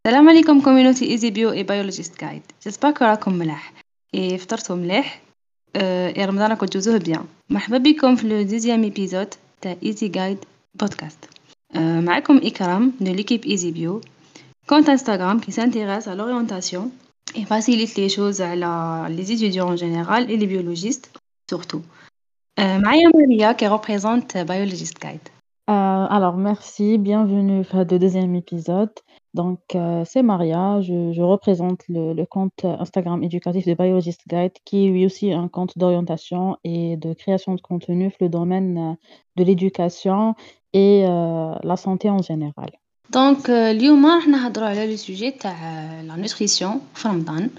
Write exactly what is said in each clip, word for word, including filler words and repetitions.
السلام عليكم communauté Easy Bio et Biologist Guide. J'espère que راكم ملاح et فطرتوا ملاح euh, et رمضان راكم تجوزوه bien. مرحبا بكم في le deuxième épisode تاع Easy Guide podcast. Euh, معكم إكرام de l'équipe Easy Bio, compte Instagram qui s'intéresse à l'orientation et facilite les choses à les étudiants en général et les biologistes surtout. Euh, معايا Maria qui représente Biologist Guide. Euh, alors, merci, bienvenue à le deuxième épisode. Donc, euh, c'est Maria, je, je représente le, le compte Instagram éducatif de Biologist Guide, qui est lui aussi un compte d'orientation et de création de contenu dans le domaine euh, de l'éducation et euh, la santé en général. Donc, euh, اليوم راح نهضروا على le sujet تاع la nutrition في رمضان.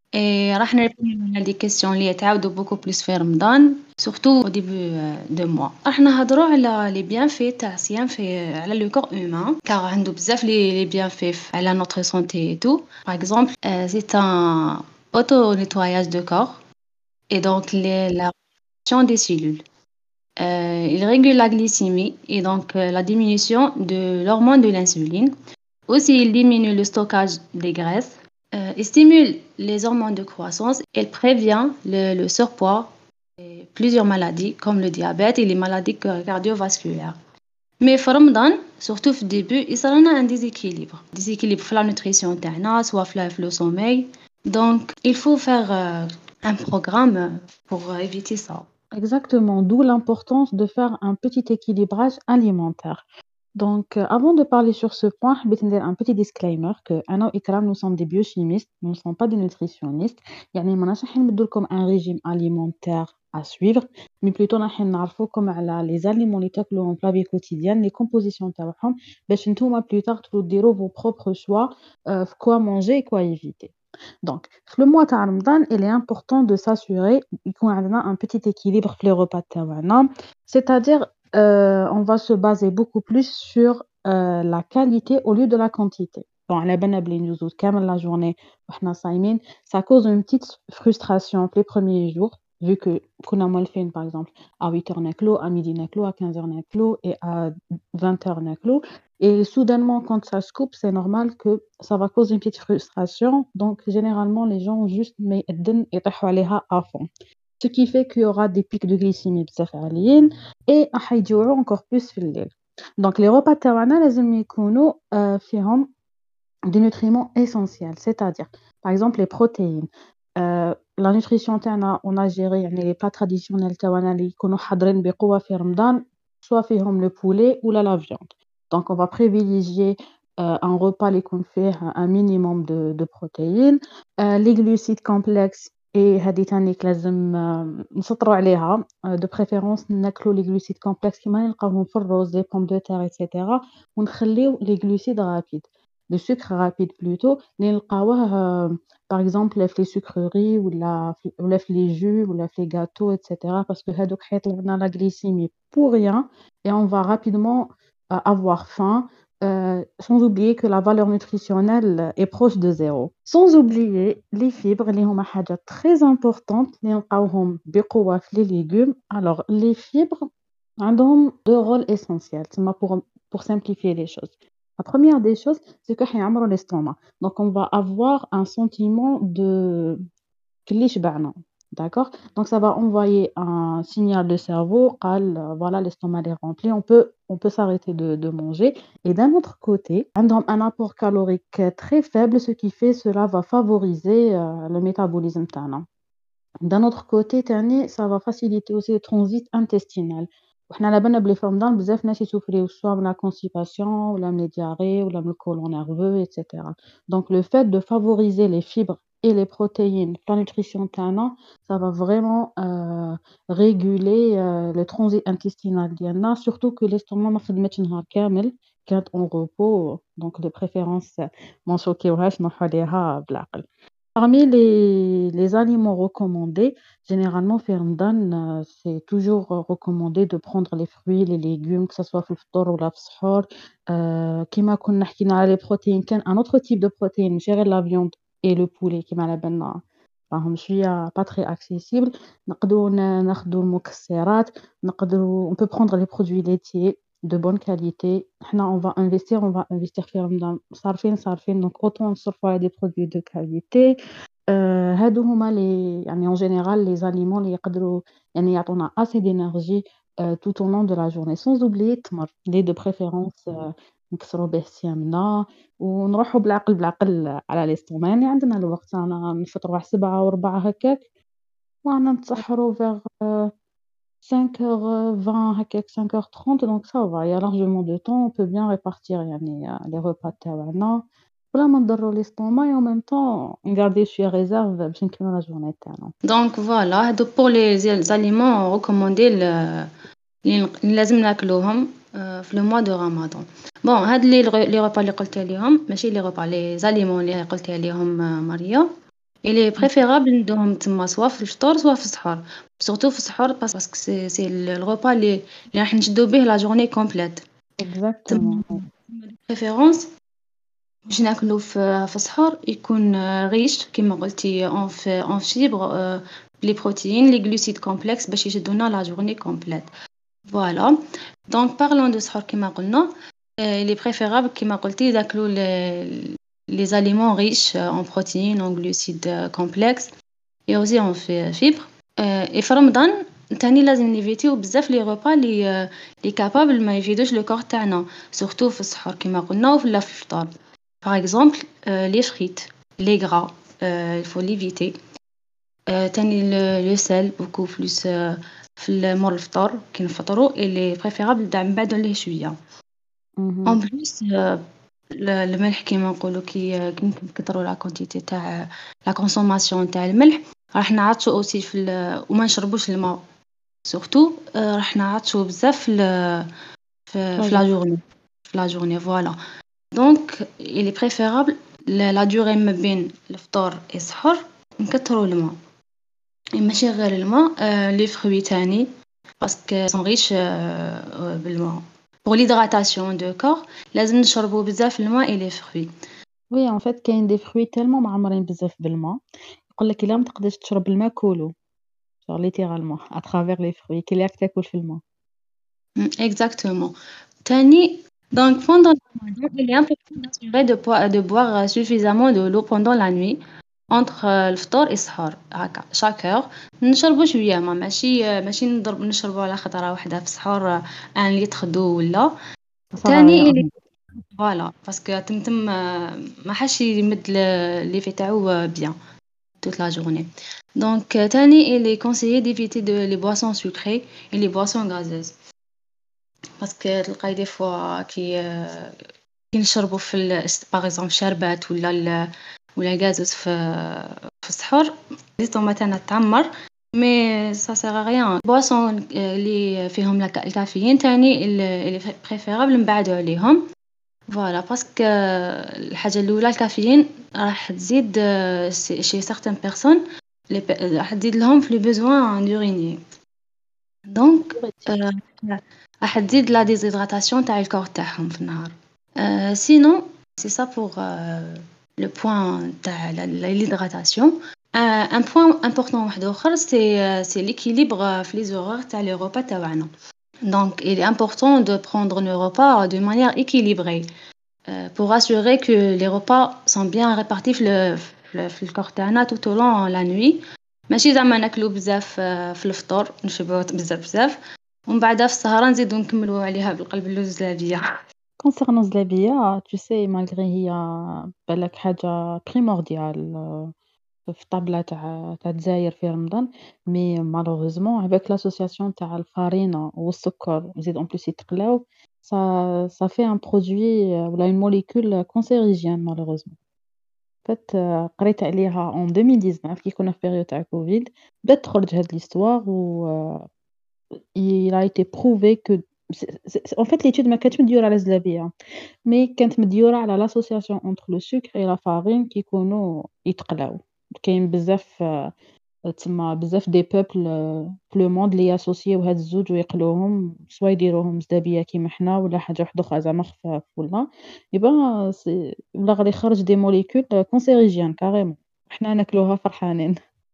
Et راح نريبوندو على دي كيسيون اللي يتعاودوا بوكو بليس في رمضان سورتو au début de mois. راح نهضروا على لي بيانفي تاع الصيام في على لو كور هومان كار عنده بزاف لي لي بيانفي على نوتر سونتي et tout. Par exemple, euh, c'est un auto nettoyage de corps et donc les, la réduction des cellules. Euh, il régule la glycémie et donc euh, la diminution de l'hormone de l'insuline. Aussi, il diminue le stockage des graisses. Euh, il stimule les hormones de croissance. Il prévient le, le surpoids et plusieurs maladies comme le diabète et les maladies cardiovasculaires. Mais في رمضان, surtout au début, il y a un déséquilibre. Déséquilibre dans la nutrition, soit dans le sommeil. Donc, il faut faire euh, un programme pour éviter ça. Exactement, d'où l'importance de faire un petit équilibrage alimentaire. Donc, euh, avant de parler sur ce point, je vais dire un petit disclaimer que Anna et Ikram, nous sommes des biochimistes, nous ne sommes pas des nutritionnistes. يعني ما نحن نمدوا لكم un régime alimentaire à suivre, mais plutôt نحن نعرفوكم على les aliments اللي تاكلوهم في la vie quotidienne, les compositions تاعهم باش نتوما plus tard تقدروا ديروا vos propres choix euh, quoi manger et quoi éviter. Donc, le mois de Ramadan, il est important de s'assurer qu'on a un petit équilibre في les repas تاعنا, c'est-à-dire euh, on va se baser beaucoup plus sur euh, la qualité au lieu de la quantité. Bon, على بالنا بلي ندوزو كامل la journée وحنا صايمين, ça cause une petite frustration les premiers jours, vu que كنا مولفين par exemple à huit heures ناكلو, à midi ناكلو, à quinze heures ناكلو et à vingt heures ناكلو. Et soudainement, quand ça se coupe, c'est normal que ça va causer une petite frustration. Donc, généralement, les gens juste mettent à fond. Ce qui fait qu'il y aura des pics de glycémie بزاف et حيجوعوا encore plus في الليل. Donc, les repas تاعنا لازم يكونوا euh, فيهم des nutriments essentiels, c'est-à-dire, par exemple, les protéines. Euh, la nutrition تاعنا, on a géré يعني les plats traditionnels تاعنا اللي يكونوا حاضرين بقوة في رمضان, soit فيهم le poulet ou la viande. Donc, on va privilégier euh, un repas qui fait un minimum de, de protéines. Euh, les glucides complexes, et هذه تاني لازم نسطروا عليها, de préférence ناكلوا les glucides complexes كيما نلقاوهم في الرز, les pommes de terre, et cetera. ونخليو les glucides rapides, le sucre rapide plutôt, اللي نلقاوه par exemple في les sucreries ou la ou les jus ou les gâteaux, et cetera. Parce que هذوك حيطلعوا لنا la glycémie pour rien et on va rapidement avoir faim, euh, sans oublier que la valeur nutritionnelle est proche de zéro. Sans oublier les fibres, les sont حاجة très importante, les نلقاوهم بقوة في les légumes. Alors, les fibres ont deux rôles essentiels, pour, pour simplifier les choses. La première des choses, c'est que حيعمروا l'estomac. Donc, on va avoir un sentiment de كلي شبعنا. D'accord? Donc, ça va envoyer un signal de cerveau, قال, voilà, l'estomac est rempli, on peut, on peut s'arrêter de, de manger. Et d'un autre côté, un apport calorique très faible, ce qui fait cela va favoriser euh, le métabolisme تاعنا. D'un autre côté, تاني, ça va faciliter aussi le transit intestinal. وحنا على بالنا بلي في رمضان بزاف ناس يسوفريو soit من la constipation ولا من les diarrhées ولا من le côlon nerveux, et cetera. Donc, le fait de favoriser les fibres et les protéines, la nutrition تاعنا, ça va vraiment euh, réguler euh, le transit intestinal ديالنا, surtout que l'estomac ما خدمتش نهار كامل, كانت en repos, donc de préférence ما نشوكيوهاش نروحو ليها بالعقل. Parmi les, les aliments recommandés, généralement, في رمضان, euh, c'est toujours euh, recommandé de prendre les fruits, les légumes, que ce soit في الفطور ولا في السحور. Euh, كيما كنا حكينا على les protéines, كان un autre type de protéines, gérer la viande et le poulet, كيما على بالنا راهم شوية pas très accessibles. نقدروا ن- ناخدوا المكسرات, نقدروا, on peut prendre les produits laitiers, de bonne qualité. حنا on va investir on va investir في رمضان صارفين صارفين donc autant نصرفوا على des produits de qualité. آآ هادو هُما les يعني en général les aliments اللي يقدروا يعني يعطونا assez d'énergie heu, tout au long de la journée sans oublier التمر اللي de préférence آآ نكسروا به صيامنا ونروحوا بالعقل بالعقل على l'estomac يعني عندنا الوقت رانا نفطروا على سبعة وربع هكاك ورانا نتسحروا vers cinq heures vingt هكاك cinq heures trente donc ça va, il y a largement de temps, on peut bien répartir يعني les repas تاوعنا بلا ما نضروا l'estomac et en même temps نغارديو شوية réserve باش نكملوا la journée تاعنا. دونك فوالا هادو pour les aliments recommandés ل اللي نق- اللي لازم ناكلوهم آه، في لو موا دو رمضان. بون هاد لي الغ- لي غوبا اللي قلت عليهم ماشي لي غوبا لي زاليمون اللي قلت عليهم آه، ماريا اللي بريفيرابل ندوهم تما سوا في الفطور سوا في السحور سورتو في السحور باس- باسكو سي سي الغوبا اللي اللي راح نشدو به لا جورني كومبليت. Exactement. بريفيرونس باش ناكلو في في السحور يكون آه، ريش كيما قلتي اون في اون فيبر لي بروتيين لي جلوسيد كومبلكس باش يشدونا لا جورني كومبليت. فوالا دونك بارلون دو سحور كيما قلنا il est préférable كيما قلتي ناكلو les les aliments riches en protéines en glucides complexes et aussi en fi- fibres. et في رمضان تاني لازم نيفيتيو بزاف لي غوبا لي لي كابابل ما يفيدوش لو كور تاعنا سورتو في السحور كيما قلنا ولا في الفطور. par exemple euh, les frites les gras euh, il faut l'éviter. euh, تاني le, le sel beaucoup plus euh, في مور الفطور كي نفطروا اللي بريفيرابل تاع نبعدوا عليه شويه. اهم. en plus euh, ال- الملح كيما نقولوا كي كي نكثروا لا كونتيتي تاع لا كونسوماسيون تاع الملح راح نعطشوا اوسي في ال- وما نشربوش الماء سورتو راح نعطشوا بزاف في ال- في في Plaisir. لا جورني في لا جورني فوالا. دونك il est préférable لا لا دوري ما بين الفطور والسحور نكثروا الماء ماشي غير الماء آه لي فروي تاني باسكو سون ريش آه بالماء pour l'hydratation de corps لازم نشربوا بزاف الماء et les fruits. Oui en fait كاين des fruits tellement معمرين بزاف بالما يقول لك إلا ما تقدرش تشرب الماء كولو genre littéralement à travers les fruits كي راك تاكل في الماء. Mm, exactement. Tani, donc pendant le ramadan, il est important d'assurer de, boi- de boire suffisamment de l'eau pendant la nuit entre euh, le fطور et السحور هكا chaque heure نشربوا شويه ما ماشي آه، ماشي نضرب نشربوا على خطره واحده في السحور آه، ان لتر دو ولا. Ça sert à تاني rien. اللي فوالا باسكو تمتم آه، ما حاش يمد لي في تاعو بيان toute la journée. Donc euh, tani il est conseillé d'éviter de, les boissons sucrées et les boissons gazeuses. باسكو تلقاي دي فوا كي كي نشربوا في ال- باغ اكزومبل شربات ولا ال- ولا الغازوس في في السحور الستوما تاعنا تعمر مي سا سيغ ريان بواسون اللي فيهم الك- الكافيين تاني اللي بريفيرابل نبعدوا عليهم فوالا باسكو الحاجه الاولى الكافيين راح تزيد شي سيغتان بيرسون راح تزيد لهم في لي بوزوان دوريني دونك Diurétique. راح تزيد لا ديزيدراتاسيون تاع الكور تاعهم في النهار. Euh, sinon, c'est ça pour euh, le point de l'hydratation. Euh, un point important واحد آخر c'est euh, c'est l'équilibre euh, في les horaires تاع les repas تاعنا. Donc, il est important de prendre nos repas de manière équilibrée euh, pour assurer que les repas sont bien répartis في le في في الكور تاعنا tout au long la nuit. ماشي زعما ناكلو بزاف آه، في الفطور نشبعو بزاف بزاف ومن بعدها في السهرة نزيدو نكملو عليها بالقلب اللوزلابية. concernant الزلابية tu sais malgré هي بالك حاجة primordiale في الطابلة تاع تاع الجزاير في رمضان mais malheureusement avec l'association تاع الفرينة والسكر وزيد en plus يتقلاو ça ça fait un produit ولا une molécule cancérigène malheureusement. en fait قريت عليها en deux mille dix-neuf كي كنا في période تاع كوفيد بدات تخرج هاد l'histoire و il a été prouvé que c'est c'est en fait l'étude ما كانتش مديورة على الزلابية mais كانت مديورة على l'association entre le sucre et la farine كيكونوا يتقلاو. كاين بزاف تما بزاف دي peuples في le monde اللي ياسوسيو هاد الزوج ويقلوهم سوا يديروهم زلابية كيما حنا ولا حاجة وحدة أخرى زعما خفاف ولا يبا سي ولا غادي يخرج des molécules cancérigènes carrément حنا ناكلوها فرحانين.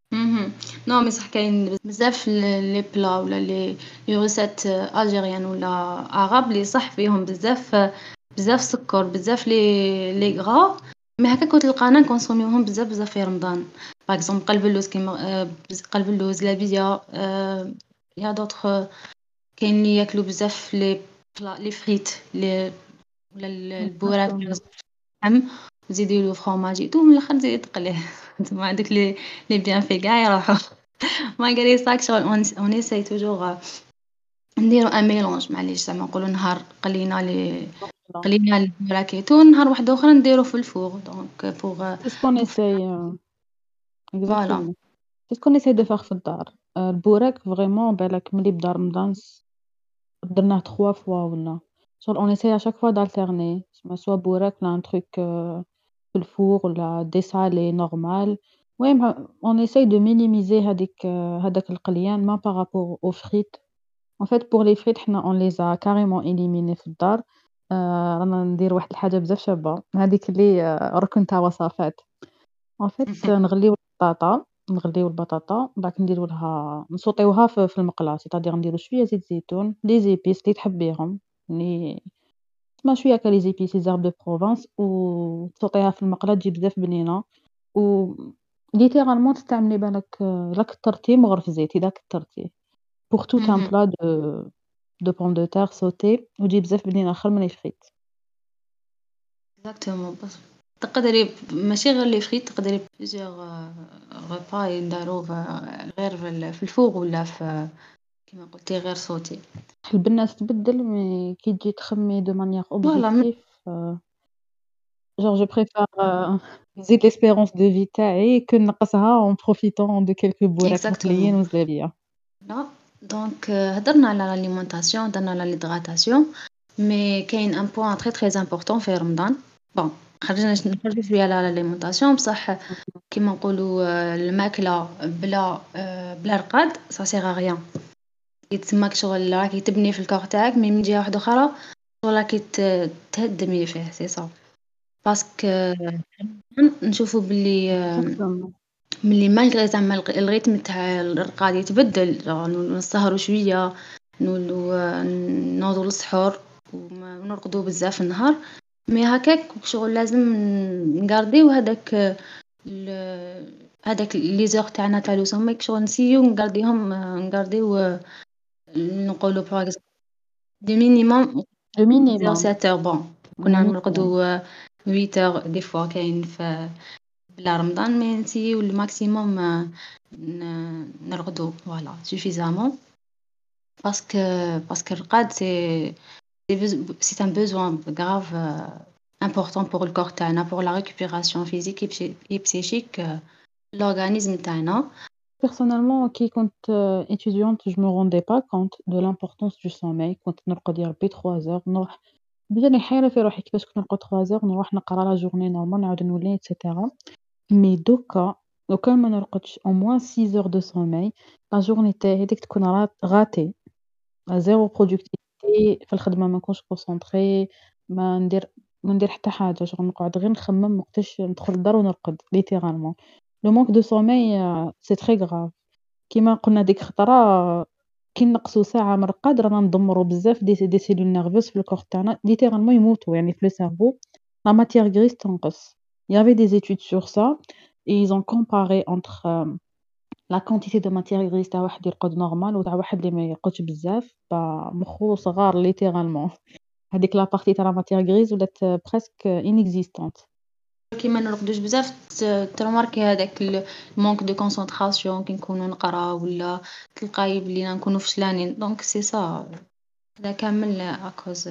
اهم. نو مي صح كاين بزاف ل لي بلا ولا لي لي ريسيت ألجيريان ولا عرب لي صح فيهم بزاف بزاف سكر، بزاف لي لي gras مي هكاك وتلقانا نكونسوميوهم بزاف بزاف في رمضان. باغ إكزومبل قلب اللوز كيما آآ بز قلب اللوز، لابية، آآ يا d'autres كاين لي ياكلوا بزاف لي بلا لي فريت لي ولا ال البوراك Exactement. اللحم وتزيدي له فرomاج et tout من الآخر تزيدي تقليه تسمى هادوك لي لي bienfaits كاع يروحوا. malgré ça شغل on on essaye toujours نديرو un mélange معليش زعما نقولوا نهار قلينا لي Voilà. قلينا البوراك et tout نهار واحد آخر نديرو في الفور donc pour C'est ce qu'on pour essaye, heu, voilà. exactement. C'est ce qu'on essaie de faire في الدار. آآ البوراك vraiment بالك ملي بدا رمضان س درناه trois fois والّا شغل on essaie à chaque fois d'alterner تسمى soit بوراك ولا un truc heu في الفور ولا des salés normal. المهم on essaye de minimiser هاديك هداك القليان ما par rapport aux frites. En fait pour les frites حنا on les a carrément éliminées في الدار. آآ رانا ندير واحد الحاجة بزاف شابة هاديك اللي ركن تاع وصفات. En fait نغليو البطاطا نغليو البطاطا من بعد نديرو لها نسوطيوها في في المقلة c'est-à-dire نديرو شوية زيت زيتون les épices اللي تحبيهم اللي تسمى شوية هاكا les épices les herbes de Provence وتسوطيها في المقلة تجي بزاف بنينة. و littéralement تستعملي بالك إلا كترتيه من غير في الزيت إذا كترتيه pour tout un اهم. plat de de pommes de terre sautées وتجي بزاف بنينة خير من les frites. exactement بس تقدري ماشي غير لي فريت تقدري plusieurs repas ينداروا ف غير في ال في الفوغ ولا في كيما قلتِ غير sauté. البنة تتبدل مي كي تجي تخمي de manière Voilà م objectif heu genre je préfère heu نزيد l'espérance de vie تاعي que نقصها en profitant de quelques بوراك exactement. مقليين وزلابية. لا دونك هدرنا على l'alimentation هدرنا على l'hydratation مي كاين un point très très important في رمضان. bon خرجنا ش نخرجوا شوية على l'alimentation بصح كيما نقولوا الماكلة بلا آآ بلا رقاد ça sert à rien. يتسماك شغل راكي تبني في الكور تاعك مي من جهة واحدة أخرى شغل راكي ت تهدمي فيه c'est ça. باسكو نشوفوا بلي Exactement. ملي مالغري زعما الغ الريتم تاع الرقاد يتبدل نولو نسهروا شوية نولو نوضوا للسحور وما ونرقدوا بزاف النهار مي هكاك شغل لازم نغارديو هذاك ال هذاك لي زور تاعنا تاع لو سومي شغل نسيو نغارديهم نغارديو نقولوا باغ اكزومبل دي مينيموم Le minimum. sept heures bon Le كنا minimum. نرقدوا huit heures des fois كاين في بلا رمضان مي نسيو الماكسيموم ن نرقدو فوالا suffisamment باسكو باسكو الرقاد سي سي بز c'est un besoin grave important pour le corps تاعنا pour la récupération physique et psy et psychique l'organisme تاعنا. Personnellement كي كنت étudiante je me rendais pas compte de l'importance du sommeil كنت نرقد يا ربي trois heures نروح بجاني حايرة في روحي كيفاش كنت نرقد trois heures نروح نقرا la journée normal نعاود نولي et cetera. مي دوكا لو كان ما نرقدش au moins six heures de sommeil la journée تاعي هاذيك تكون رات غاتي zéro productivité في الخدمة ما نكونش concentrée ما ندير ما ندير حتى حاجة شغل نقعد غير نخمم وقتاش ندخل للدار ونرقد littéralement. Le manque de sommeil c'est très grave. كيما قلنا ديك خطرة كي نقصوا ساعة من الرقاد رانا ندمروا بزاف دي دي cellules nerveuses في الكور تاعنا littéralement يموتوا يعني في le cerveau la matière grise تنقص. Il y avait des études sur ça et ils ont comparé entre la quantité de matière grise تاع واحد يرقد normal وتاع واحد اللي ما يرقدش بزاف با مخو صغار littéralement. هاديك la partie تاع la matière grise ولات presque inexistante. كيما نرقدوش بزاف ت ترماركي هذاك ال manque de concentration كي نكونوا نقراو ولا تلقاي بلي نكونوا فشلانين دونك سي سا هذا كامل à cause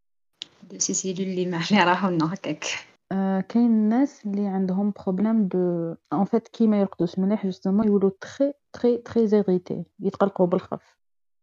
de ces cellules اللي ما اللي راحوا لنا هكاك. آآ كاين ناس اللي عندهم problème de en fait كي ما يرقدوش مليح justement يولوا très très très irrités يتقلقوا بالخف.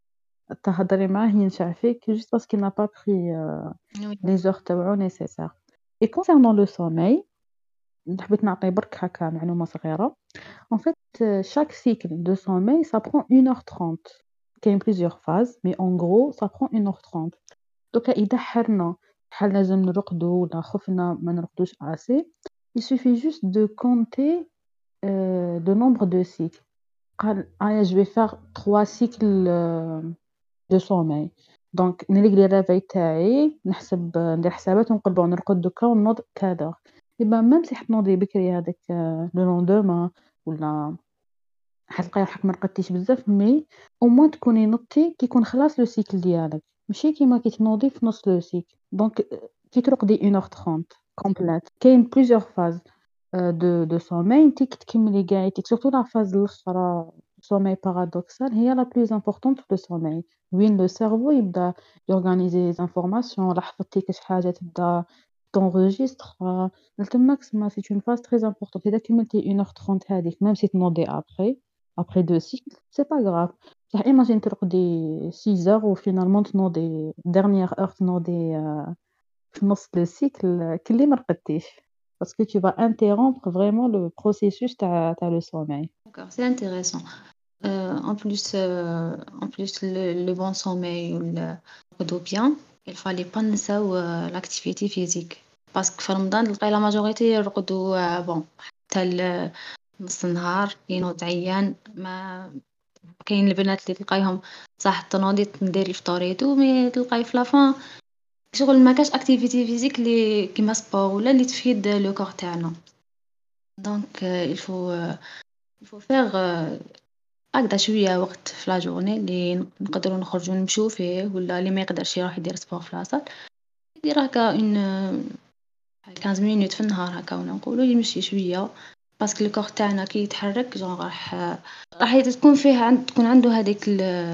تهضري معاه ينشع فيك juste parce qu'il n'a pas pris heu Oui. les heures تاوعو nécessaires. Et concernant le sommeil حبيت نعطي برك هاكا معلومة صغيرة. En fait chaque cycle de sommeil ça prend une heure trente. كاين plusieurs phases mais en gros ça prend une heure trente. دوكا إذا حرنا شحال لازم نرقدو ولا خفنا ما نرقدوش assez il suffit juste de compter euh, de nombre de cycles. قال آه je vais faire trois cycles euh, de sommeil. دونك نلقى لي الريفاي تاعي نحسب ندير حسابات ونقول بون نرقد دوكا ونوض كذا. يبقى ميم سي حتنوضي بكري هذاك لو لوندوما ولا حتلقاي روحك ما رقدتيش بزاف، مي او موان تكوني نضتي كي يكون خلاص لو سيكل ديالك، ماشي كيما كي تنوضي في نص لو سيكل. دونك كي ترقدي واحد heure ثلاثين كومبليت كاين بليزيور فاز دو دو سوماي انتي كي تكملي قاعدتك سورتو لا فاز الاخرى sommeil paradoxal هي la plus importante في le sommeil وين لو سيرفو يبدا يورغانيزي les informations لا حفظتي كاش حاجه تبدا تونغيجستر تماك سما سي une phase très importante. اذا كملتي واحد heure ثلاثين هذيك ميم سي تنوضي après après deux cycles c'est pas grave. صح imagine ترقدي six heures و finalement تنوضي dernière heure تنوضي آه، في نص le cycle كلي ما رقدتيش parce que tu vas interrompre vraiment le processus تاع تاع le sommeil. D'accord, c'est intéressant. Euh, en plus, euh, en plus le, le bon sommeil ou le repos bien, il fallait pas نساو euh, l'activité physique. parce que في رمضان تلقاي لا ماجوريتي يرقدوا euh, bon حتى ال- نص النهار ينوض عيان. ما كاين البنات اللي تلقايهم صح تنوضي تنديري فطوريتو مي تلقاي في لافان شغل ما كاش اكتيفيتي فيزيك اللي كيما سبور ولا اللي تفيد لو كور تاعنا. دونك il faut euh, il faut faire euh, هكذا شوية وقت في لا جورني اللي نقدروا نخرجوا نمشوا فيه، ولا اللي ما يقدرش يروح يدير سبور في لاصال يدير هكا اون خمسطاش مينوت في النهار هكا ولا نقولوا يمشي شوية. باسكو الكور تاعنا كي يتحرك جون راح راح تكون فيه عند تكون عنده هذيك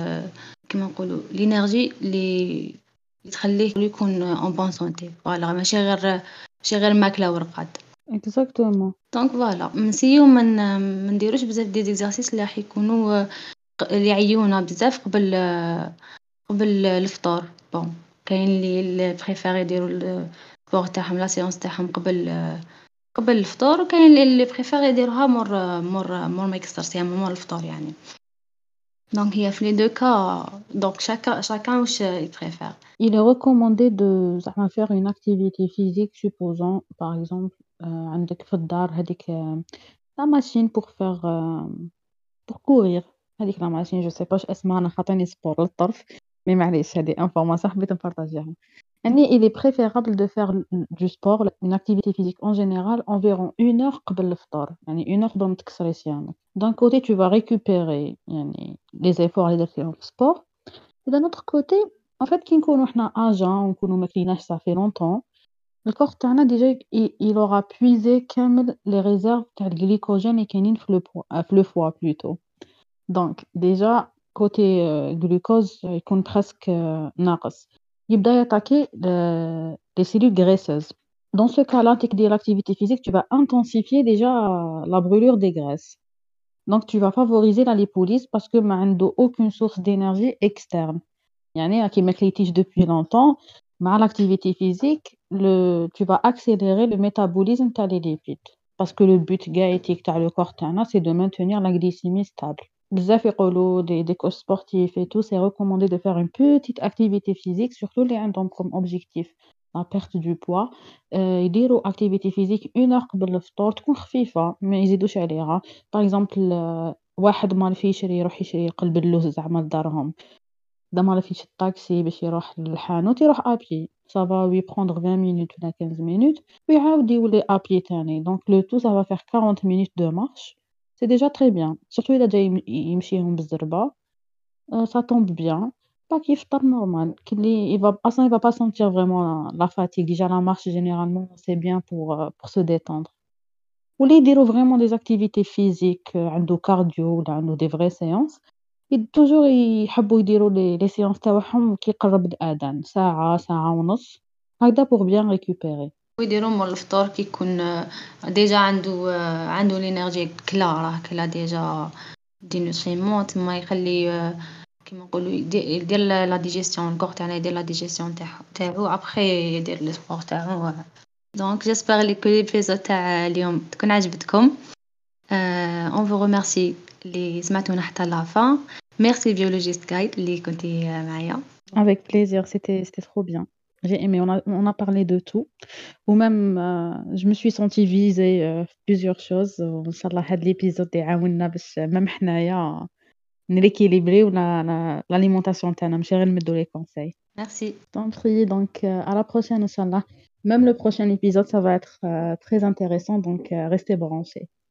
كما نقولوا لينيرجي اللي اللي تخليه يكون اون بون سونتي. فوالا ماشي غير ماشي غير ماكله ورقاد. Exactement. دونك فوالا نسيو من ما نديروش بزاف دي زيكزارسيس اللي راح يكونوا اللي يعيونا بزاف قبل قبل الفطور. بون كاين اللي اللي بريفير يديروا السبور تاعهم لا سيونس تاعهم قبل قبل الفطور، وكاين اللي بريفير يديروها مور مور مور ما يكسر يعني مور الفطور يعني. دونك هي في لي دو كا دونك شاكا شاكان واش يبريفير. Il est recommandé de زعما faire une activité physique, supposons par exemple euh, عندك في الدار هذيك euh, la machine pour faire euh, pour courir. هذيك la machine je sais pas واش اسمها، انا خاطيني سبور للطرف مي معليش هذه انفورماسيون حبيت نبارطاجيها. يعني il est préférable de faire du sport une activité physique en général environ une heure قبل الفطور، يعني une heure قبل ما تكسري صيامك. d'un côté tu vas récupérer يعني les efforts اللي درتيهم في السبور، et d'un autre côté en fait كي نكونوا حنا اجا ونكونوا ما كليناش صافي لونطون الكور تاعنا ديجا il aura puisé كامل les réserves تاع الجليكوجين اللي كاينين في لو في لو فوا بلوتو. دونك ديجا كوتي glucose يكون presque ناقص، يبدا ياتاكي les cellules graisseuses. Dans ce cas-là, dès que tu fais l'activité physique, tu vas intensifier déjà la brûlure des graisses. Donc, tu vas favoriser la lipolyse parce que ما عنده aucune source d'énergie externe. يعني كي ما كليتيش depuis longtemps مع l'activité physique le tu vas accélérer le métabolisme تاع les lipides parce que le but gaétique تاع le corps تاعنا c'est de maintenir la glycémie stable. بزاف يقولوا des des coachs sportifs et tout c'est recommandé de faire une petite activité physique surtout les عندهم comme objectif la perte du poids. euh, يديروا activité physique une heure قبل الفطور تكون خفيفة ما يزيدوش عليها. par exemple euh, واحد ما في يشري يروح يشري قلب اللوز زعما لدارهم، إذا ما فيش الطاكسي باش يروح للحانوت يروح ابيي ça va lui prendre vingt minutes ولا quinze minutes ويعاود يولي ابيي تاني. donc le tout ça va faire quarante minutes de marche c'est déjà très bien surtout إذا جاي يم- يمشيهم بالزربة. euh, ça tombe bien pas كيفطر normal كلي il va اصلا il va pas sentir vraiment la fatigue. déjà la marche généralement c'est bien pour euh, pour se détendre. واللي يديروا vraiment des activités physiques euh, عنده cardio ولا عنده des vraies séances ي toujours يحبوا يديروا لي لي séances تاعهم كي يقرب الأذان ساعة ساعة ونص هكذا pour bien récupérer. ويديروا مول الفطور كي يكون ديجا عنده عنده لينيرجي كلا راه كلا ديجا دي نوتريمون تما يخلي كيما نقولوا يدير لا ديجيستيون الكور تاعنا يدير لا ديجيستيون تاعو تاعو ابخي يدير لي سبور تاعو. دونك جيسبر لي كل ليبيزود تاع اليوم تكون عجبتكم. اون فو ريميرسي اللي سمعتونا حتى لافان. ميرسي بيولوجيست جايد اللي كنتي معايا. avec plaisir c'était c'était trop bien. J'ai aimé, on a on a parlé de tout ou même heu, je me suis sentie visée heu, في plusieurs choses وإن شاء الله هاد l'épisode يعاوننا باش même حنايا نريكيليبريو لا لا l'alimentation تاعنا ماشي غير نمدّو les conseils. Merci. Je t'en prie, donc heu, à la prochaine Inch'Allah. Même le prochain épisode, ça va être heu, très intéressant donc heu, restez branchés.